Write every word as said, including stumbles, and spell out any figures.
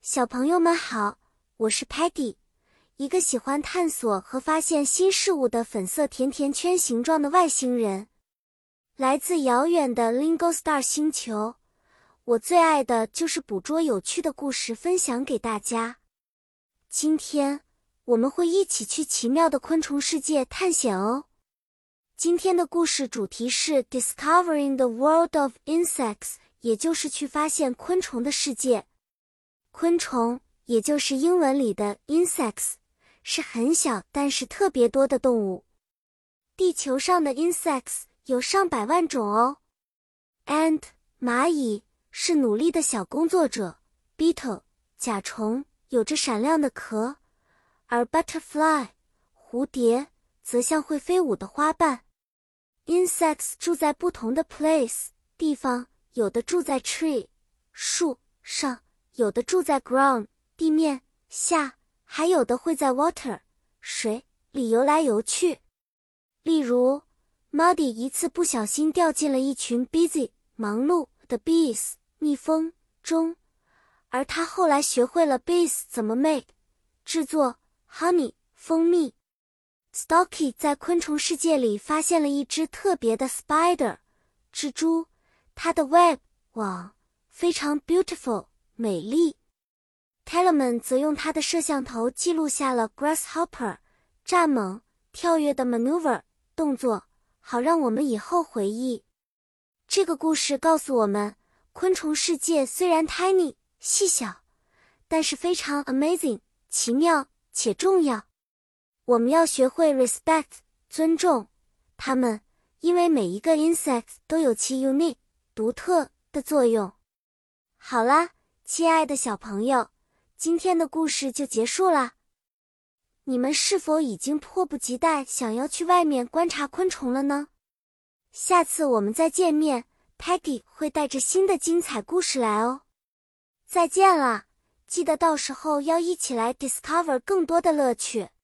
小朋友们好，我是 Patty， 一个喜欢探索和发现新事物的粉色甜甜圈形状的外星人。来自遥远的 Lingo Star 星球，我最爱的就是捕捉有趣的故事分享给大家。今天，我们会一起去奇妙的昆虫世界探险哦。今天的故事主题是 Discovering the World of Insects， 也就是去发现昆虫的世界。昆虫，也就是英文里的 insects， 是很小但是特别多的动物。地球上的 insects 有上百万种哦。Ant 蚂蚁是努力的小工作者 ，beetle 甲虫有着闪亮的壳，而 butterfly 蝴蝶则像会飞舞的花瓣。Insects 住在不同的 place 地方，有的住在 tree 树上，有的住在 ground 地面下，还有的会在 water 水里游来游去。例如 Muddy 一次不小心掉进了一群 busy 忙碌的 bees 蜜蜂中，而他后来学会了 bees 怎么 make 制作 honey 蜂蜜。Stalky 在昆虫世界里发现了一只特别的 spider 蜘蛛，它的 web 网非常 beautiful 美丽。Telemann 则用他的摄像头记录下了 grasshopper 蚱蜢跳跃的 maneuver 动作，好让我们以后回忆。这个故事告诉我们，昆虫世界虽然 tiny 细小，但是非常 amazing 奇妙且重要。我们要学会 respect 尊重它们，因为每一个 insect 都有其 unique 独特的作用。好啦，亲爱的小朋友，今天的故事就结束啦。你们是否已经迫不及待想要去外面观察昆虫了呢？下次我们再见面， Peggy 会带着新的精彩故事来哦。再见啦，记得到时候要一起来 discover 更多的乐趣。